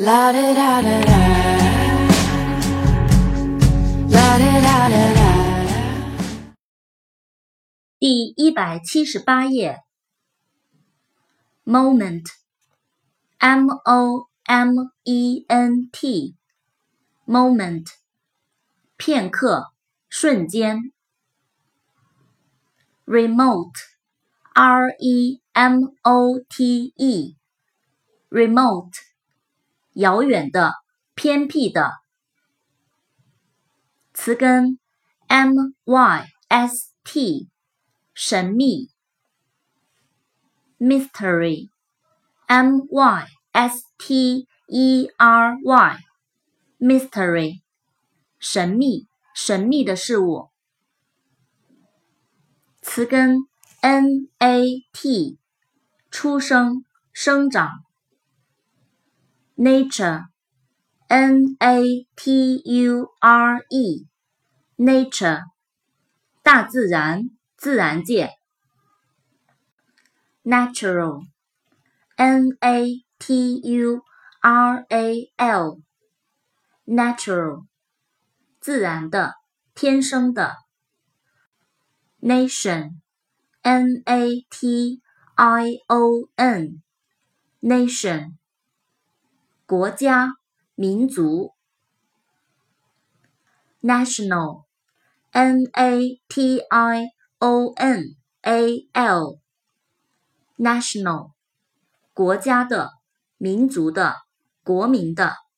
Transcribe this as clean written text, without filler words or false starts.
La da da da da. La da da da da. 第178页 Moment M-O-M-E-N-T Moment 片刻瞬间 Remote R-E-M-O-T-E Remote 遥远的偏僻的词根 M-Y-S-T 神秘 Mystery M-Y-S-T-E-R-Y Mystery 神秘的事物词根 N-A-T 出生生长 Nature N-A-T-U-R-E Nature 大自然自然界Natural N-A-T-U-R-A-L Natural 自然的天生的 Nation N-A-T-I-O-N Nation 国家民族 National N-A-T-I-O-N-A-L National 国家的民族的国民的